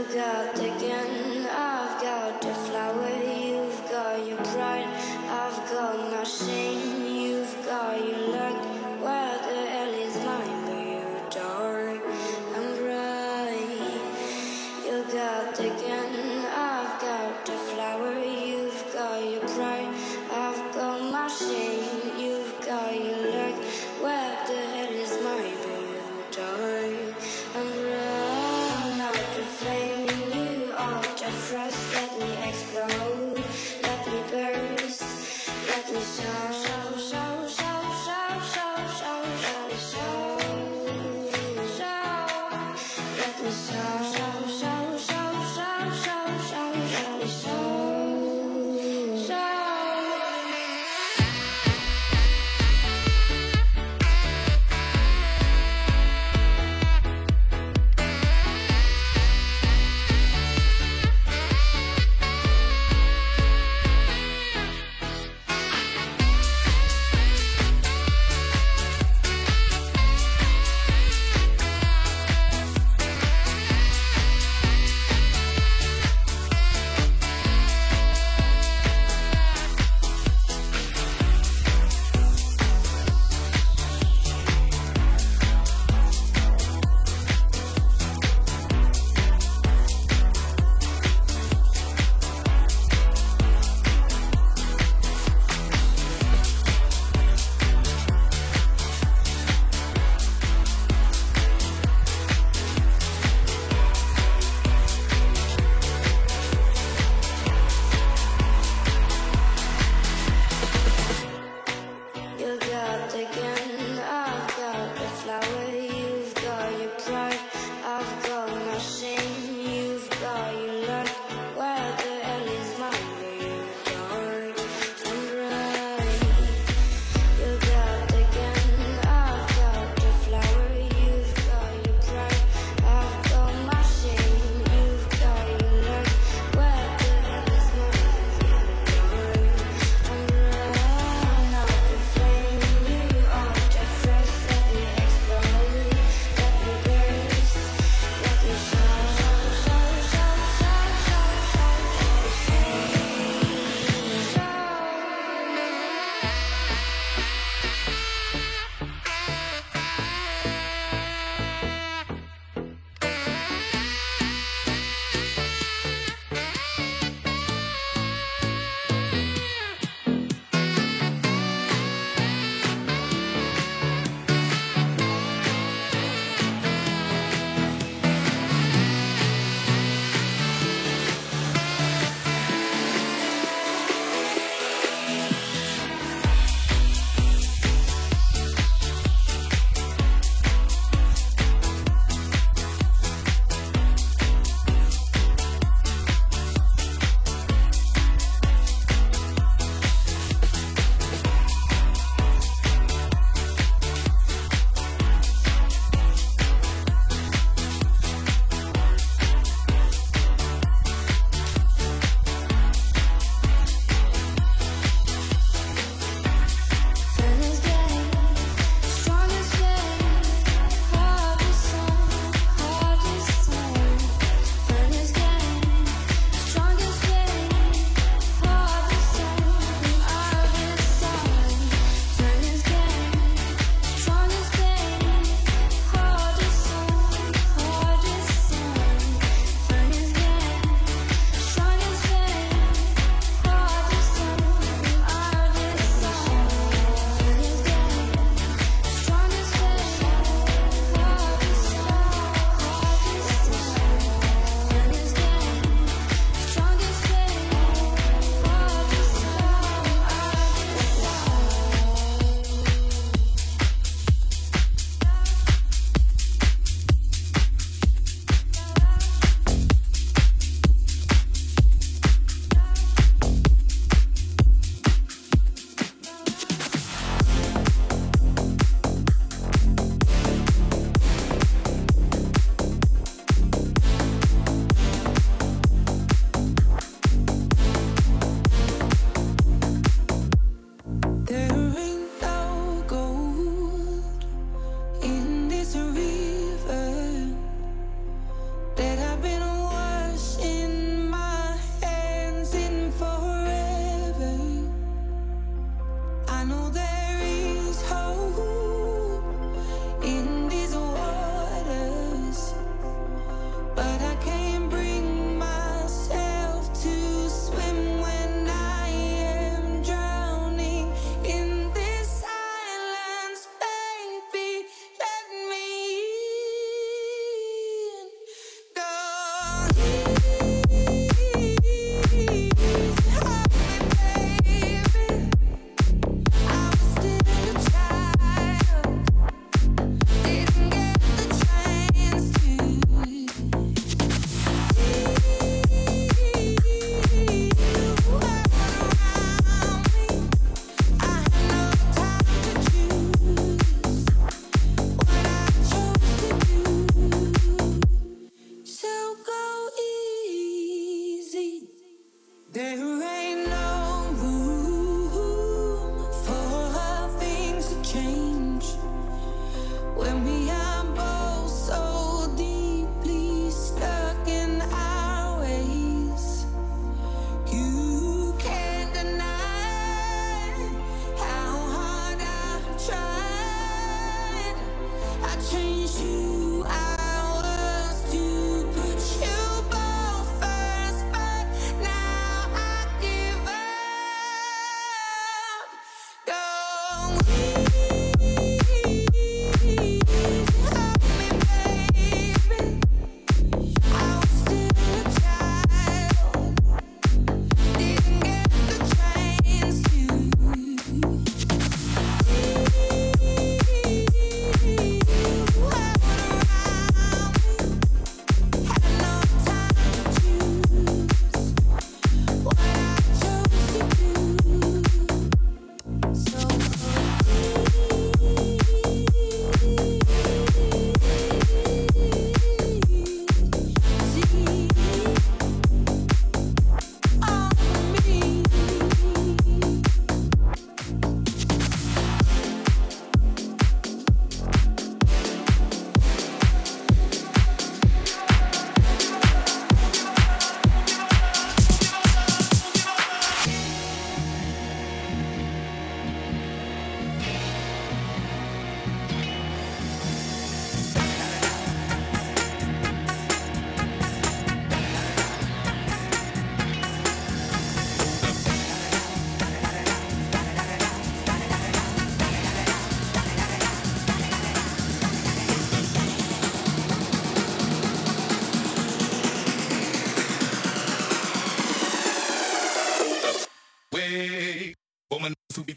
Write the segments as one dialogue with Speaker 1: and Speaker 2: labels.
Speaker 1: got the gun, I've got the flower. You've got your pride, I've got my shame. You've got your luck, where the hell is mine? But you're dark and bright. You got the gun, I've got the flower. You've got your pride, I've got my shame. You've got your luck, where the hell is mine? But you're dark and bright. Not the flame in you, all the frost. Let me explode, let me burst, let me show, show, show, show, show, show, show, let me show, show, let me show, show, show, show, show, show,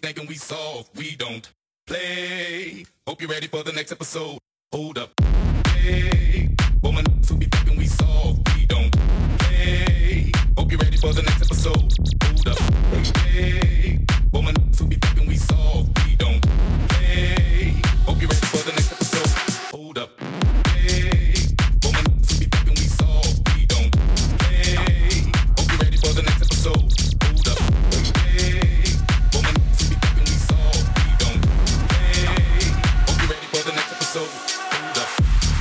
Speaker 2: thinking we soft, we don't play. Hope you're ready for the next episode. Hold up. Hey, woman, who be thinking we soft, we don't play. Hope you're ready for the next episode. Hold up. Hey, woman, who be thinking we soft, we don't play. Hope you're ready for the next episode. Hold up. Hey, woman, who be thinking we soft, we don't play. Hope you're ready for the next episode. Hold up. Hey, woman, who be thinking we soft, we don't play. Hope you're ready for the next episode. Hold up.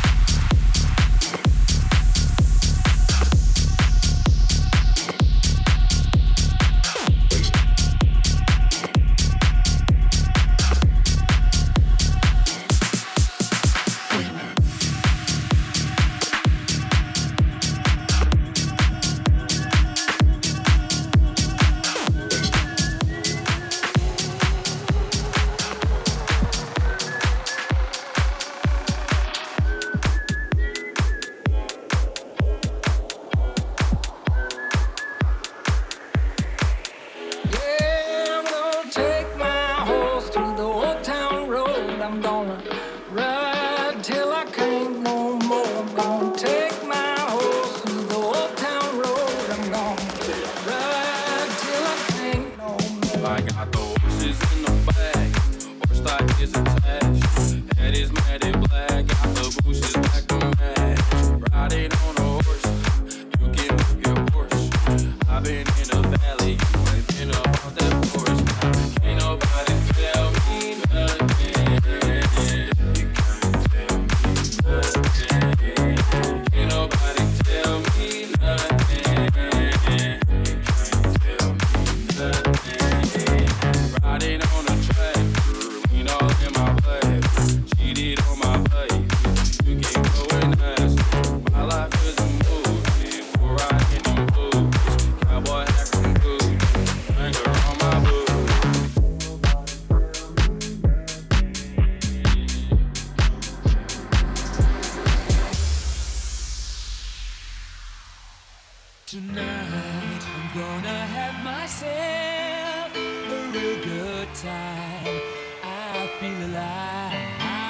Speaker 3: Tonight I'm gonna have myself a real good time. I feel alive.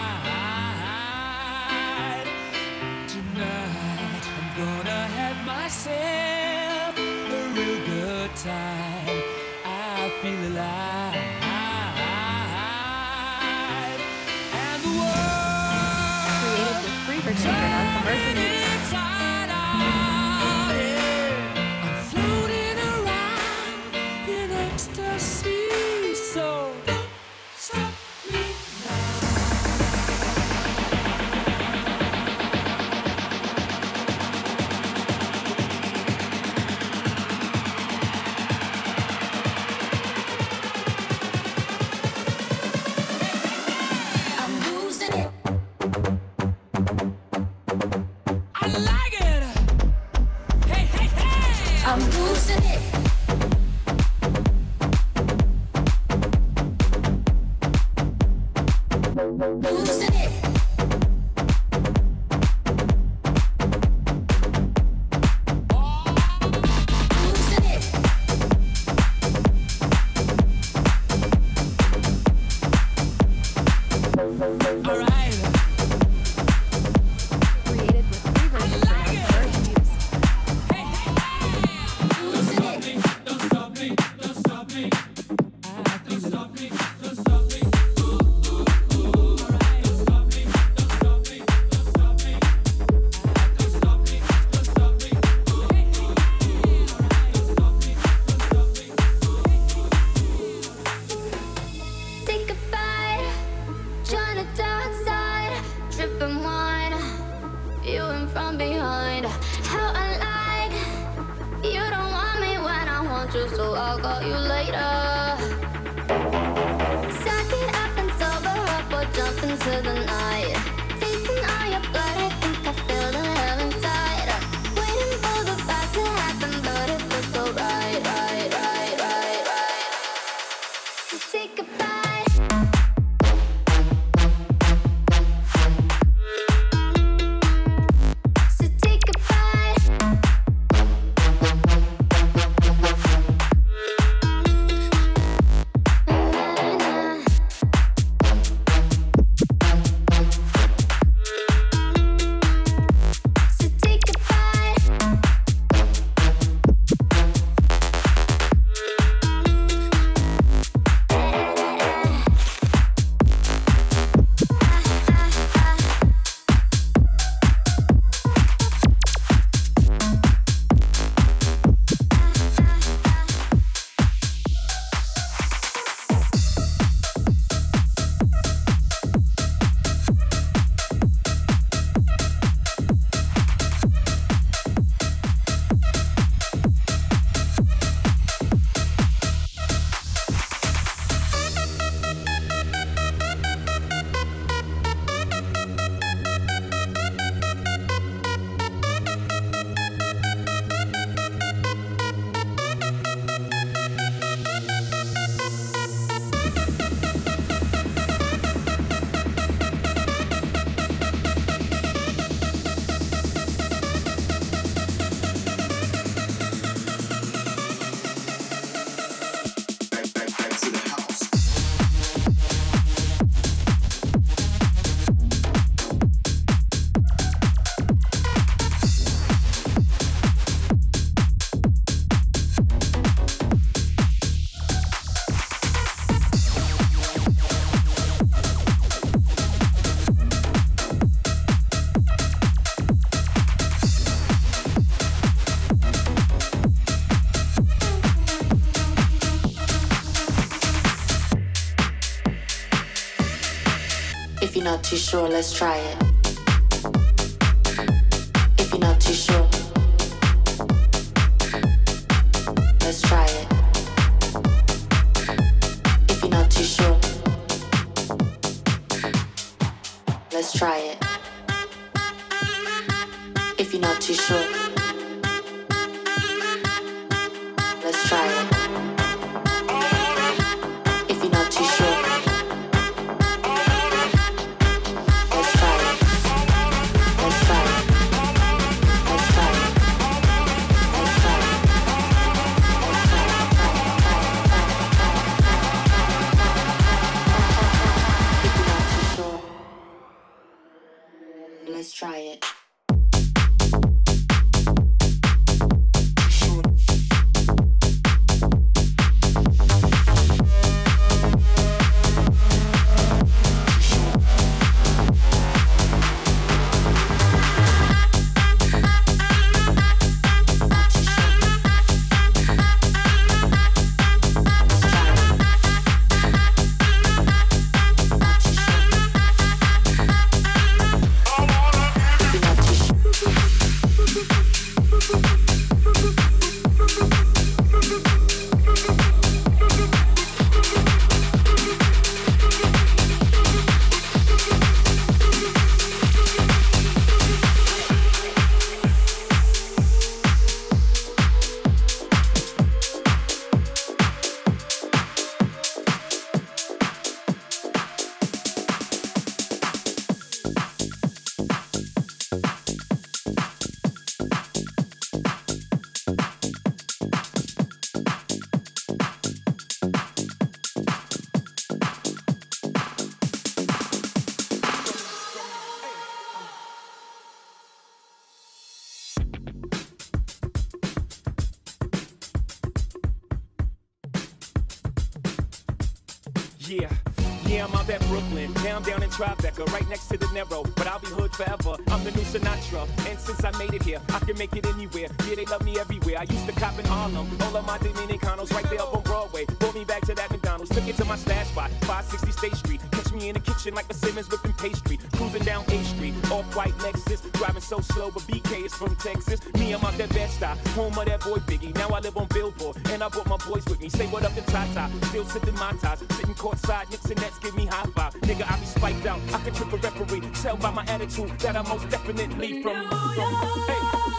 Speaker 3: Tonight I'm gonna have myself a real good time. I feel alive. And the world
Speaker 4: Created with free version for non-commercial use.
Speaker 1: So I'll call you later. Suck it up and sober up or jump into the night. Tasting all your blood, I think I feel the hell inside. Waiting for the fight to happen, but it feels so right, right, right, right, right. So take a bite. So take a bite.
Speaker 5: not too sure, let's try it. If you're not too sure, let's try it. If you're not too sure, let's try it. If you're not too sure, let's try it. If you're not too sure, let's try it. Let's try it. Let's try it. Let's try it. If you're not too sure, let's try it.
Speaker 6: Yeah, I'm out at Brooklyn, down in Tribeca, right next to the Narrow, but I'll be hood forever. I'm the new Sinatra, and since I made it here, I can make it anywhere. Yeah, they love me everywhere. I used to cop in Harlem, all of my Dominicanos right there up on Broadway. Brought me back to that McDonald's, took it to my stash spot, 560 State Street. Catch me in the kitchen like a Simmons whipping pastry, cruising down A Street, off-white Lexus, driving so slow, but BK is from Texas. Me, I'm out that Bed-Stuy, home of that boy Biggie. Now I live on Billboard, and I brought my boys with me. Say what up to Tata, still sipping my ties, sitting courtside, Knicks and Nets give me high five. Nigga, I be spiked out, I can trip a referee. Tell by my attitude that I'm most definitely from hey.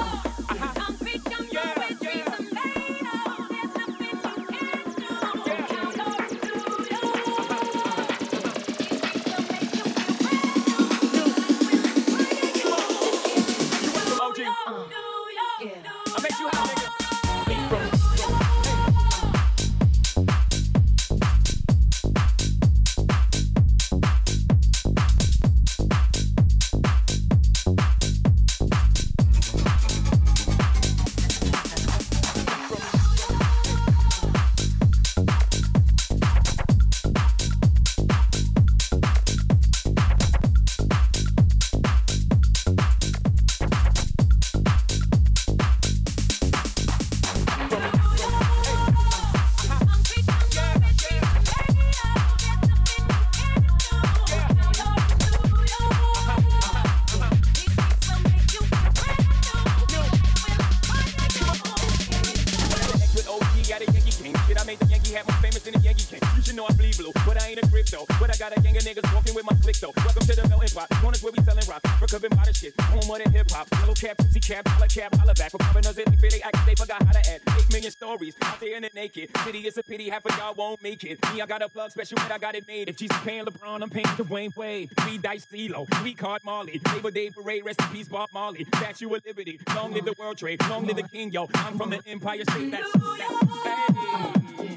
Speaker 6: City is a pity, half of y'all won't make it. Me, I got a plug special, but I got it made. If Jesus paying LeBron, I'm paying Dwayne Wade. 3 dice CeeLo, 3 card Marley. Labor Day parade, rest in peace, Bob Marley. Statue of Liberty, long live the World Trade, long live the King, yo. I'm from the Empire State. That's hey.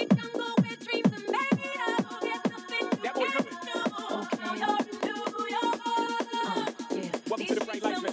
Speaker 6: That boy coming. Welcome to the Bright Lights, man.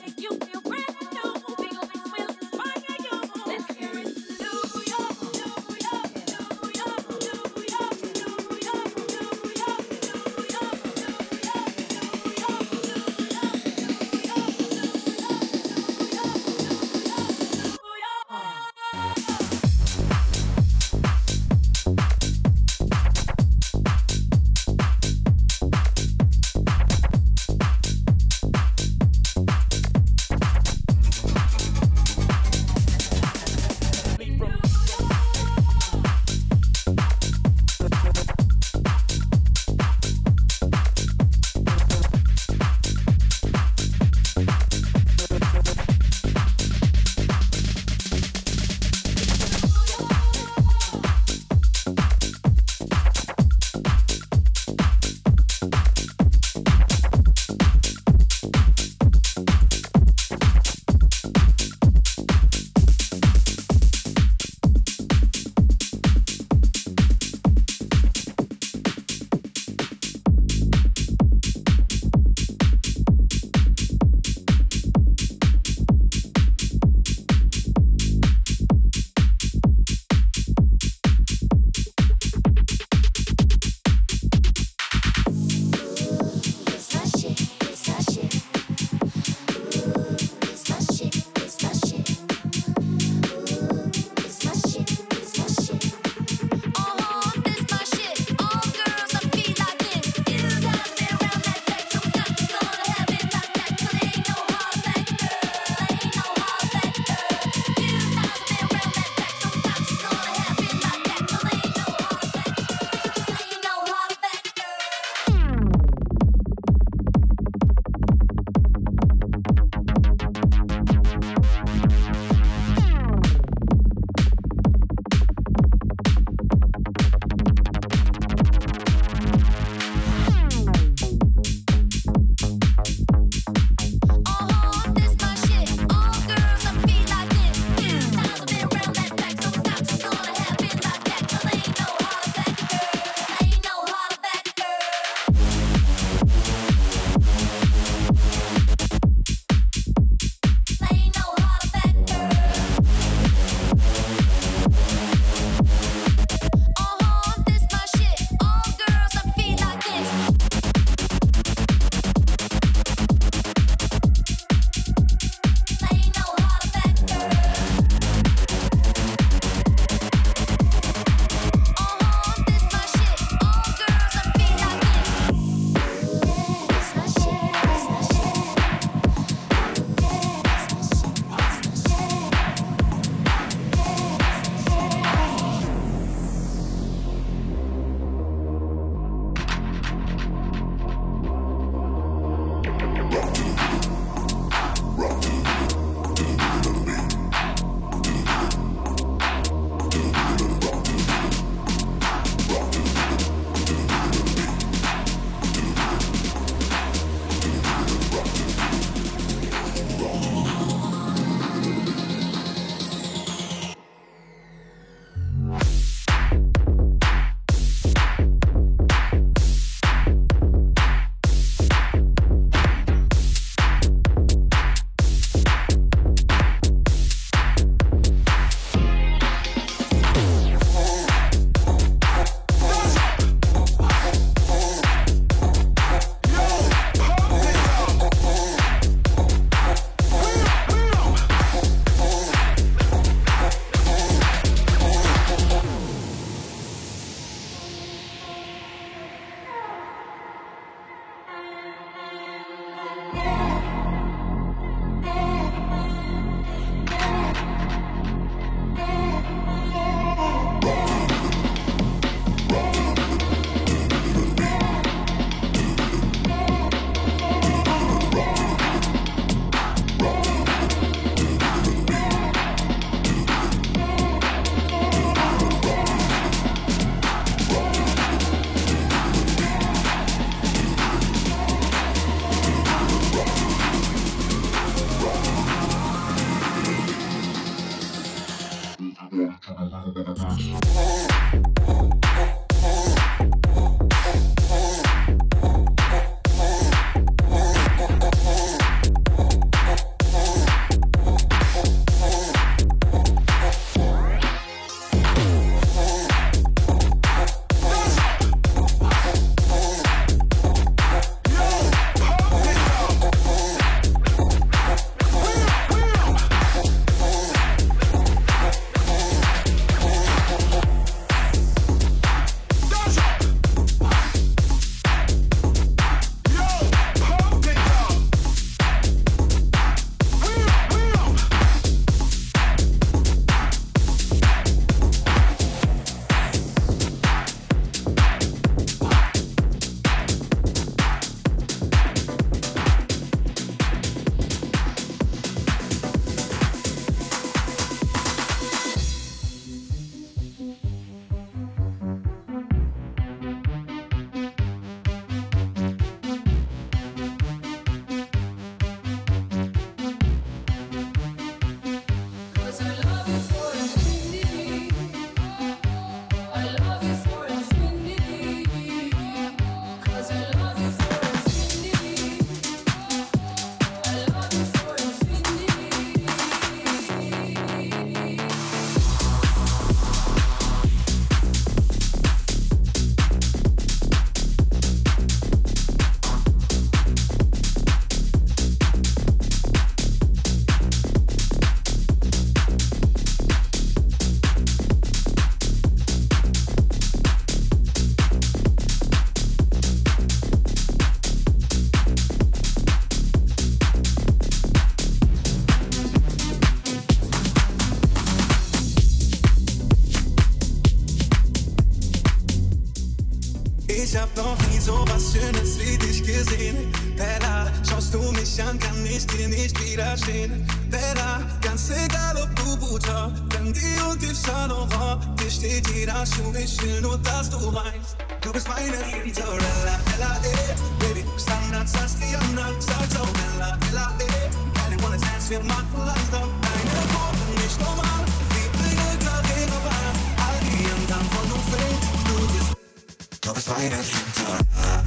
Speaker 7: Ich hab noch nie so was Schönes wie dich gesehen. Bella, schaust du mich an, kann ich dir nicht widerstehen. Bella, ganz egal ob du Butter, Fendi und Yves Saint Laurent, dir steht jeder Schuh, ich will nur, dass du weißt. Du bist meine Cinderella, Bella, Baby, du bist anders als die anderen, sag's auch Bella, Bella, Keine wanna dance, wir machen langsam. Deine Worte nicht normal, wie Bringe, Karriere war. All die anderen von du fällst, du bist. Du bist meine Cinderella,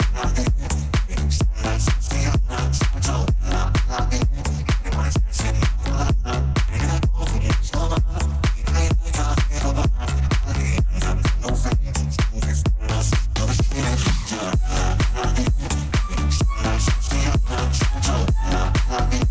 Speaker 7: anders als die anderen, sag's auch Bella, Bella, Keine wanna dance, wir machen langsam. Deine Worte nicht normal, wie Bringe, Karriere war. All die anderen von du fällst, du bist. Du bist meine Cinderella, anders als die anderen, sag's auch Bella, Bella.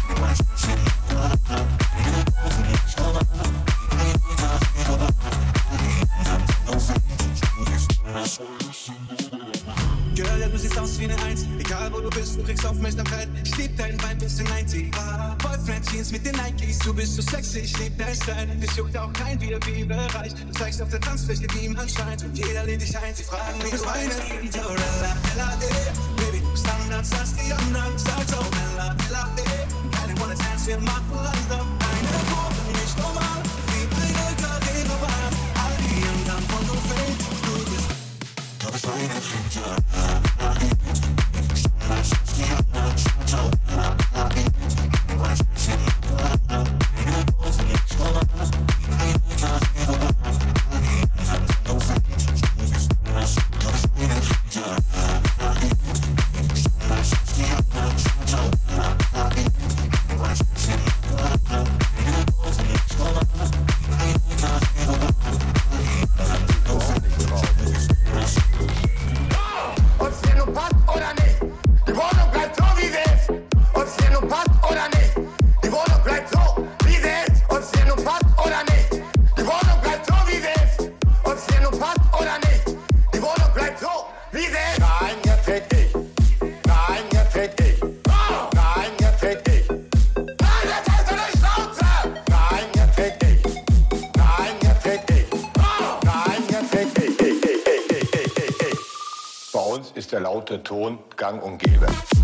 Speaker 7: Girl, du siehst aus wie eine Eins. Egal wo du bist, du kriegst Aufmerksamkeit. Ich lieb deinen Vibe bis zum 90. Boyfriend Jeans mit den Nikes. Du bist so sexy, ich lieb dein Style. Dich juckt auch kein VIP-Bereich. Du zeigst auf der Tanzfläche, wie man scheint. Und jeder lädt dich ein. Sie fragen mich, du bist meine Cinderella, Bella, Baby, du bist anders als die anderen. Sag's auch Bella, Bella, Keine wanna dance, wir machen langsam. Deine Worte nicht normal, wie Bringe, Karriere war. All die anderen von du fällst, du bist. Du bist meine Cinderella, anders als die anderen. Sag's auch Bella, Bella, Keine wanna dance, wir machen langsam. Deine Worte nicht normal, wie Bringe, Karriere war. All die anderen von du fällst, du bist. Du bist meine Cinderella, anders als die anderen. Sag's auch Bella, Bella, Keine wanna dance, wir machen langsam. Deine Worte nicht normal, wie Bringe, Karriere war. All die anderen von du fällst, du bist.
Speaker 8: Ob's dir nun passt oder nicht, die Wohnung bleibt so, wie sie ist. Ob's dir nun passt oder nicht, die Wohnung bleibt so, wie sie ist. Ob's dir nun passt oder nicht, die Wohnung bleibt so, wie sie ist. Ob's dir nun passt oder nicht, die Wohnung bleibt so, wie sie ist. Nein, jetzt red ich. Nein, jetzt red ich. Nein, jetzt red ich. Nein, jetzt hast du eine Schnauze. Nein, jetzt red ich. Nein, jetzt red ich. Nein, jetzt red ich. Bei uns ist der laute Ton gang und gäbe.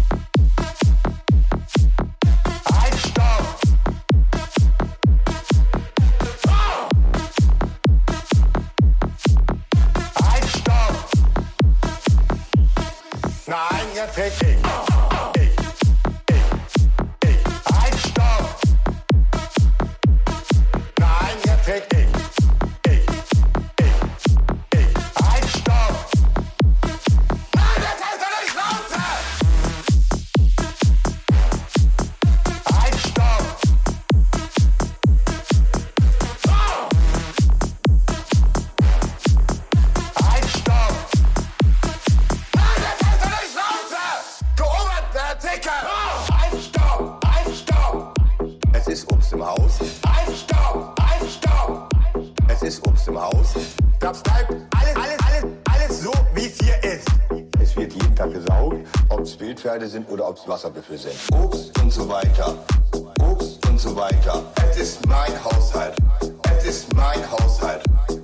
Speaker 8: Halt, stopp! Halt, stopp! Nein, jetzt red ich. Halt, stopp! Nein, jetzt red ich. Obst im Haus. Eisstaub, Eisstaub. Es ist Obst im Haus. Das bleibt alles so, wie es hier ist. Es wird jeden Tag gesaugt, ob es Wildpferde sind oder ob es Wasserbüffel sind. Obst und so weiter. Obst und so weiter. Es ist mein Haushalt. Es ist mein Haushalt.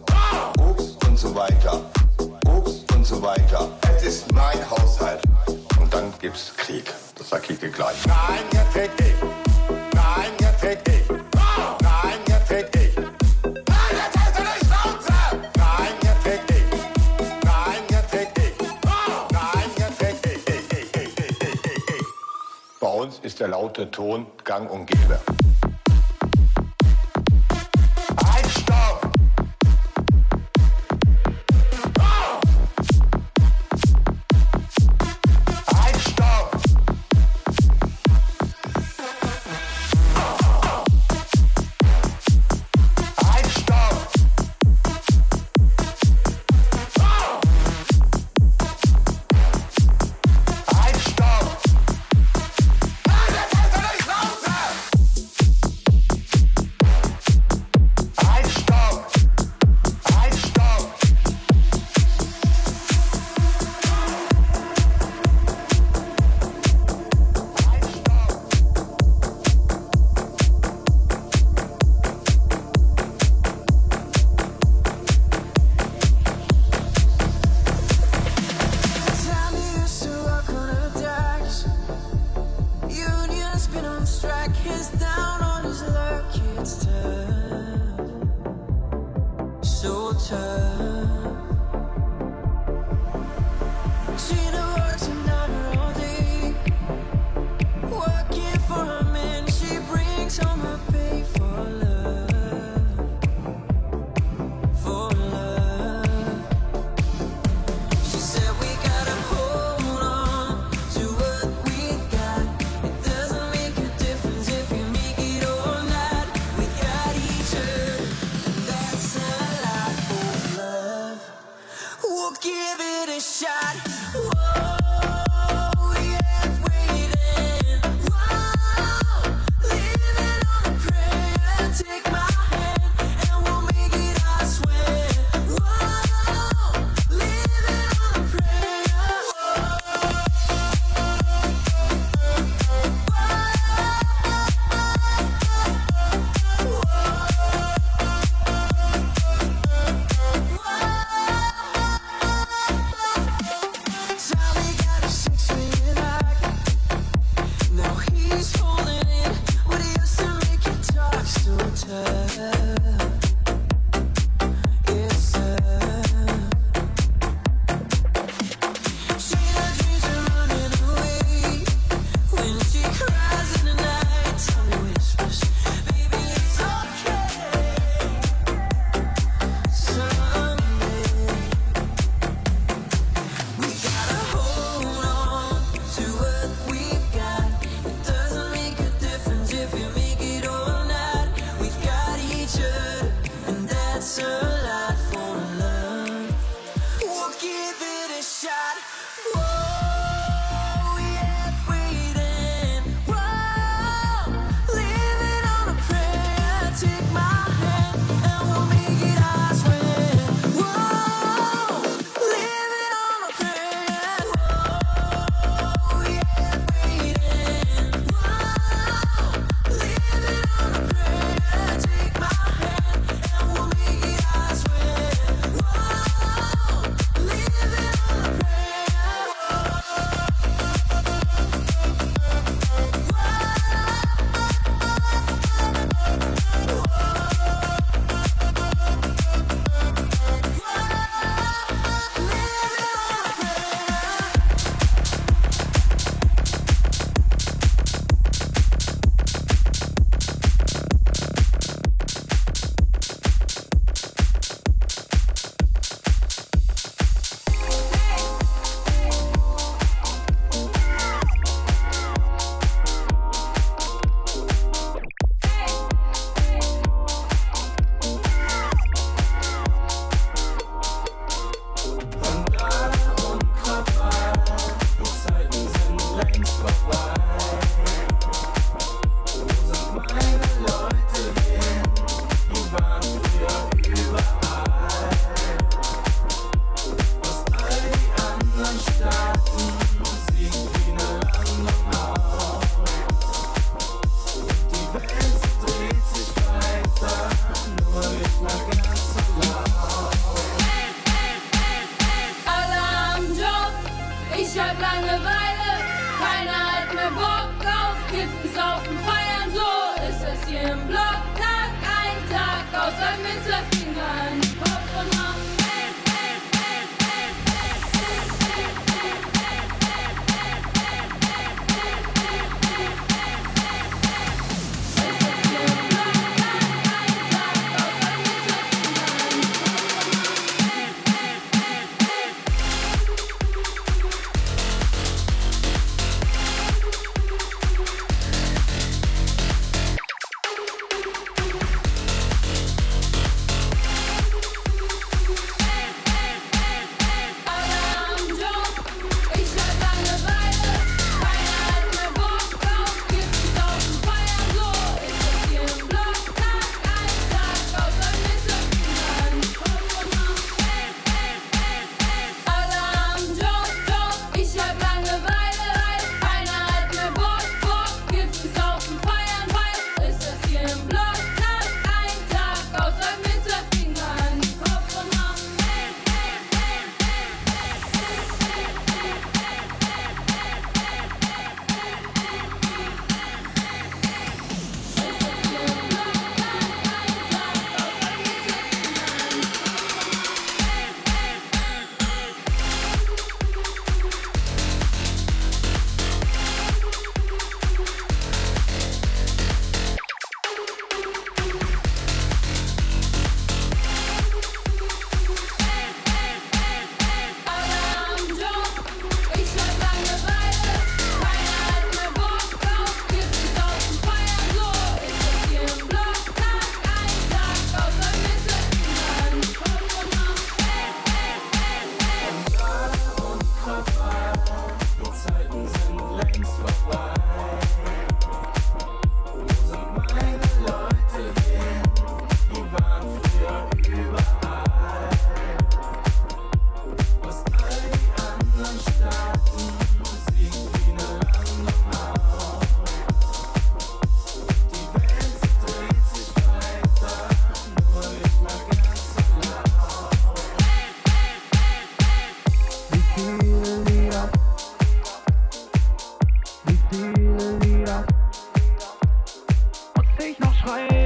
Speaker 8: Obst und so weiter. Obst und so weiter. Es ist mein Haushalt. Und dann gibt's Krieg. Das sag ich dir gleich. Nein, jetzt krieg ich. Nein, jetzt krieg ich. Nein, jetzt krieg ich. Nein, jetzt hast du nicht Schnauze. Nein, jetzt krieg ich. Nein, jetzt krieg ich. Nein, jetzt krieg ich. Bei uns ist der laute Ton gang und gäbe.
Speaker 3: Living on a prayer.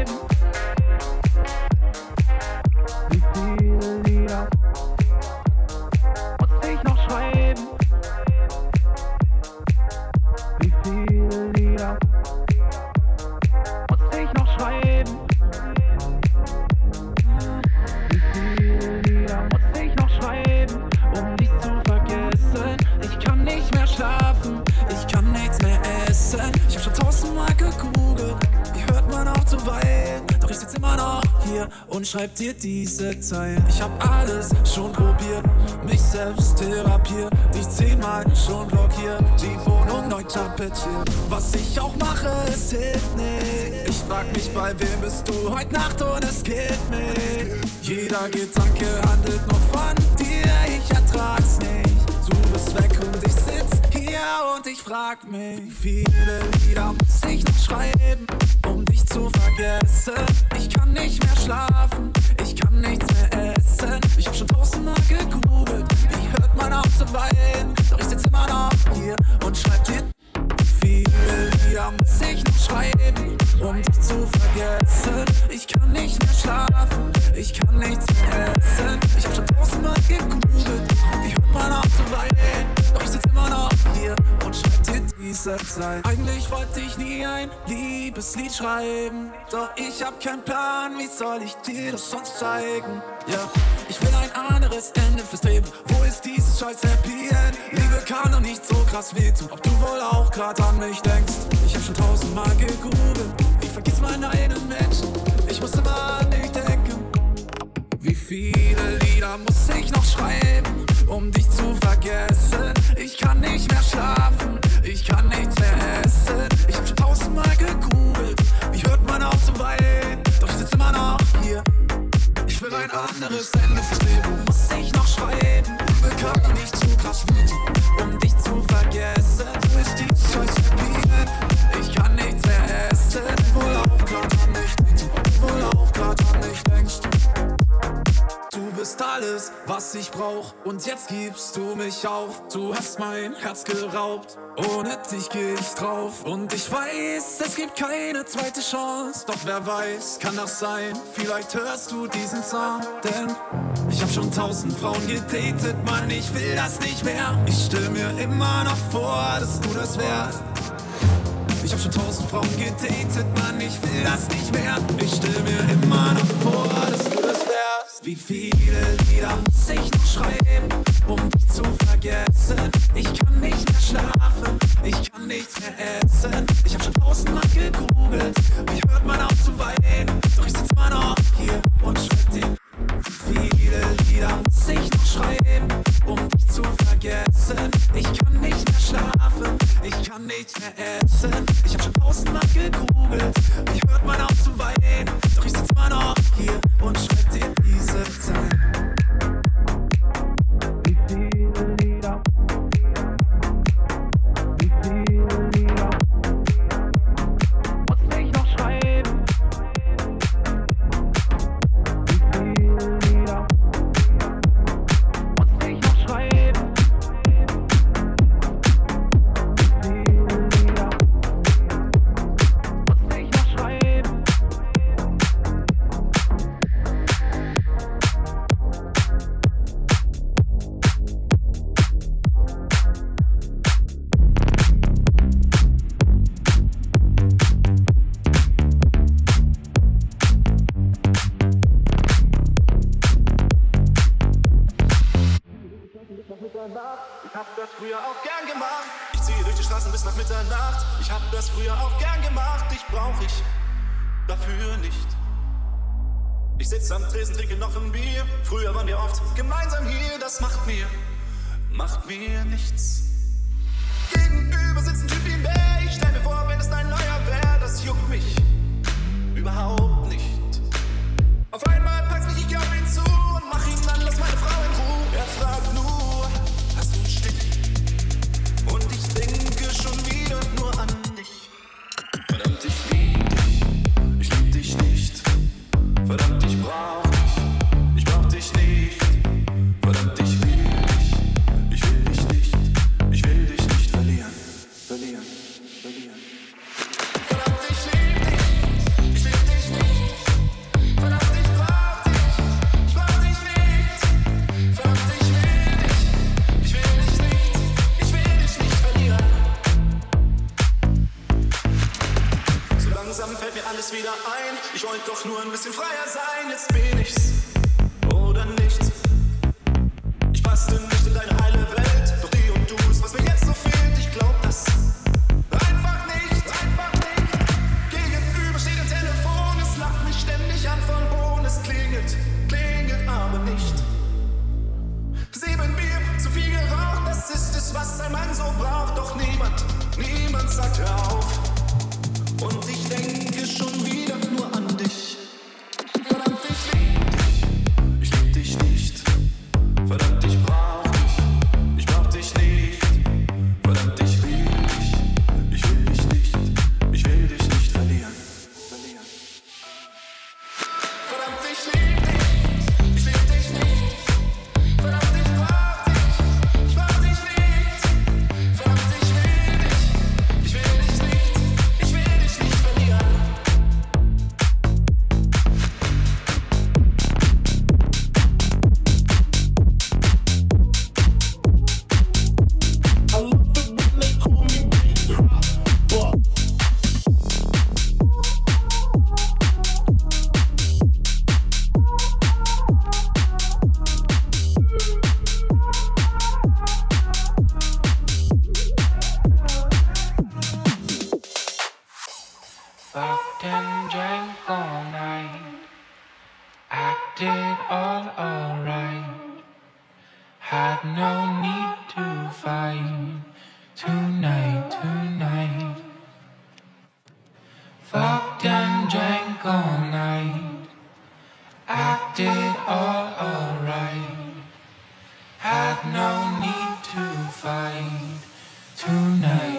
Speaker 9: schreiben? Wie viele Lieder muss ich noch schreiben? Wie viele Lieder muss ich noch schreiben? Wie viele Lieder muss ich noch schreiben, um dich zu vergessen? Ich kann nicht mehr schlafen, ich kann nichts mehr essen. Ich hab schon 1000-mal gegoogelt, wie hört man auf zu weinen? Doch ich sitz immer noch hier und schreib dir diese Zeilen. Ich hab alles schon probiert, mich selbst therapiert, dich 10-mal schon blockiert, die Wohnung neu tapetiert. Was ich auch mache, es hilft nicht. Ich frag mich, bei wem bist du heute Nacht und es killt mich. Jeder Gedanke handelt nur von dir, ich ertrag's nicht. Du bist weg und ich sitz hier und ich frag mich, wie viele Lieder muss ich noch schreiben, um dich zu vergessen? Ich kann nicht mehr schlafen, ich kann nichts mehr essen. Ich hab schon 1000-mal gegoogelt, wie hört man auf zu weinen? Doch ich sitz immer noch hier und schreib dir. Wie viele Lieder muss ich noch schreiben, um dich zu vergessen? Ich kann nicht mehr schlafen, ich kann nichts mehr essen. Ich hab schon 1000-mal gegoogelt, wie hört man auf zu weinen? Doch ich sitz immer noch hier und schreib dir diese Zeit. Eigentlich wollte ich nie ein Liebeslied schreiben, doch ich hab keinen Plan, wie soll ich dir das sonst zeigen? Ja, ich will ein anderes Ende fürs Leben. Wo ist dieses scheiß Happy End? Liebe kann doch nicht so krass wehtun, ob du wohl auch grad an mich denkst. Ich hab schon 1000-mal gegoogelt, wie vergisst man einen Menschen? Ich muss immer an dich denken. Wie viele Lieder muss ich noch schreiben, um dich zu vergessen? Ich kann nicht mehr schlafen, ich kann nichts mehr essen. Ich hab schon 1000-mal gegoogelt, wie hört man auf zu weinen? Doch ich sitz immer noch hier. Ich will ein anderes Ende fürs Leben, muss ich noch schreiben. Bekam doch nicht zu krass wütend, um dich zu vergessen. Wo ist die scheiß Happy End? Ich kann nichts mehr essen. Wohl auch grad an mich denkst, wohl auch grad an mich denkst. Du bist alles, was ich brauch, und jetzt gibst du mich auf. Du hast mein Herz geraubt, ohne dich geh ich drauf. Und ich weiß, es gibt keine zweite Chance, doch wer weiß, kann das sein? Vielleicht hörst du diesen Song, denn ich hab schon 1000 Frauen gedatet, Mann, ich will das nicht mehr. Ich stell mir immer noch vor, dass du das wärst. Ich hab schon 1000 Frauen gedatet, Mann, ich will das nicht mehr. Ich stell mir immer noch vor, dass du das wärst. Wie viele Lieder muss ich noch schreiben, um dich zu vergessen? Ich kann nicht mehr schlafen, ich kann nichts mehr essen. Ich hab schon 1000-mal gegoogelt, wie hört man auf zu weinen? Doch ich sitz immer noch hier und schreib dir. Wie viele Lieder muss ich noch schreiben, um dich zu vergessen? Ich kann nicht mehr schlafen, ich kann nichts mehr essen. Ich hab schon 1000-mal gegoogelt, wie hört man auf zu weinen? Doch ich sitz immer noch hier und schreib dir diese Zeit. Wie viele Lieder, wie viele Lieder muss ich noch schreiben? Wie viele Lieder muss ich noch schreiben? Wie viele Lieder muss ich noch schreiben?
Speaker 10: Ich hab das früher auch gern gemacht. Ich ziehe durch die Straßen bis nach Mitternacht. Ich hab das früher auch gern gemacht. Dich brauch ich dafür nicht. Ich sitz am Tresen, trinke noch ein Bier. Früher waren wir oft gemeinsam hier. Das macht mir nichts. Gegenüber sitzt ein Typ wie Bär. Ich stell mir vor, wenn es dein neuer wär. Das juckt mich überhaupt nicht. Auf einmal packst mich, ich geh auf ihn zu und mach ihn an, lass meine Frau in Ruhe. Er fragt nur, hast du einen Stich? Und ich denke schon wieder nur an dich. Verdammt, ich lieb dich nicht. Verdammt, ich brauch dich nicht. Verdammt, ich will dich nicht. Ich will dich nicht verlieren. Verdammt, ich lieb dich nicht. doch nur ein bisschen freier sein, jetzt bin ich's oder nichts. Ich passte nicht in deine heile Welt, doch die und du ist, was mir jetzt so fehlt. Ich glaub das einfach nicht, einfach nicht. Gegenüber steht ein Telefon, es lacht mich ständig an von Boden. Es klingelt, klingelt aber nicht. 7 Bier, zu viel geraucht, das ist es, was ein Mann so braucht. Doch niemand, niemand sagt hör auf. Und ich denke schon wieder nur an dich. Verdammt, ich lieb dich nicht. Verdammt, ich brauch dich nicht. Verdammt, ich will dich nicht. Ich will dich nicht verlieren. Verdammt, ich lieb dich nicht. Verdammt, ich brauch dich nicht. Verdammt, ich will dich nicht. Ich will dich nicht verlieren.
Speaker 9: Fucked and drank all night, acted all alright, had no need to fight tonight. Fucked and drank all night, acted all alright, had no need to fight tonight.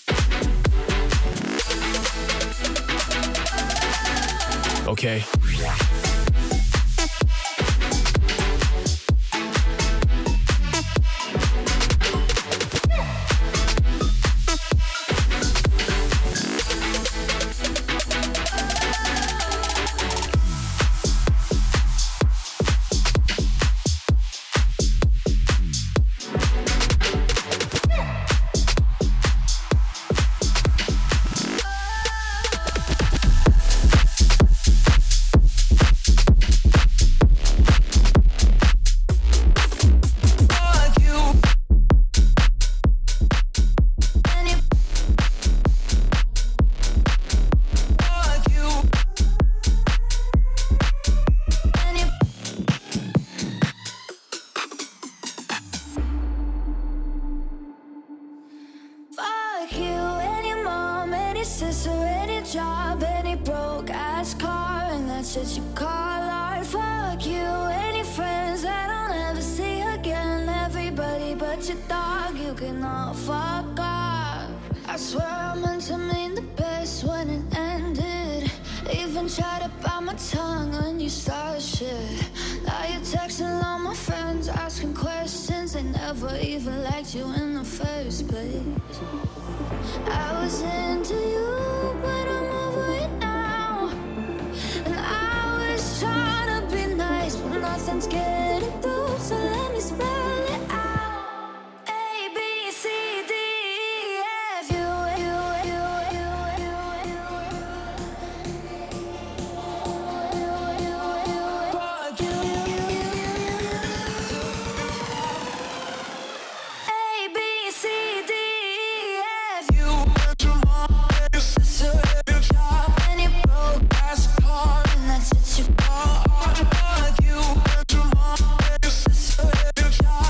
Speaker 11: Okay.
Speaker 1: Shit you call art. Fuck you, any friends that I'll never see again. Everybody but your dog, you can all fuck off. I swear I meant to mean the best when it ended. Even tried to bite my tongue when you started shit. Now you're texting all my friends, asking questions. They never even liked you in the first place. I was into you, but I'm over it now. And I was trying to be nice, but nothing's getting through, so let me spell it out. A, B, C, D, E, F, U, fuck you. A, B, C, D, E, F, you. And you broke ass car, and that's it you got. Fuck you.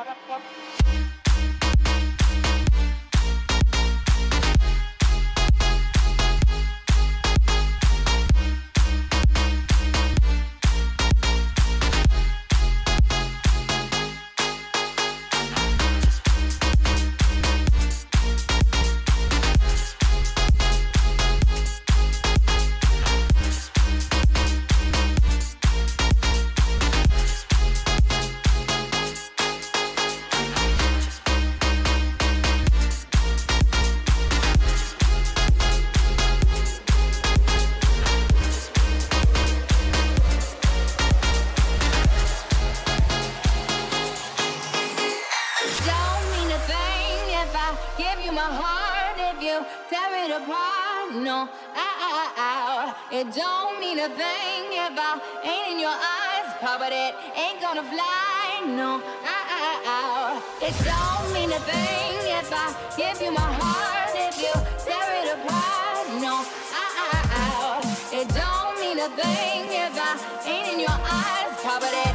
Speaker 11: It don't mean a thing if I ain't in your eyes, but it ain't gonna fly, no. It don't mean a thing if I give you my heart, if you tear it apart, no. It don't mean a thing if I ain't in your eyes, but it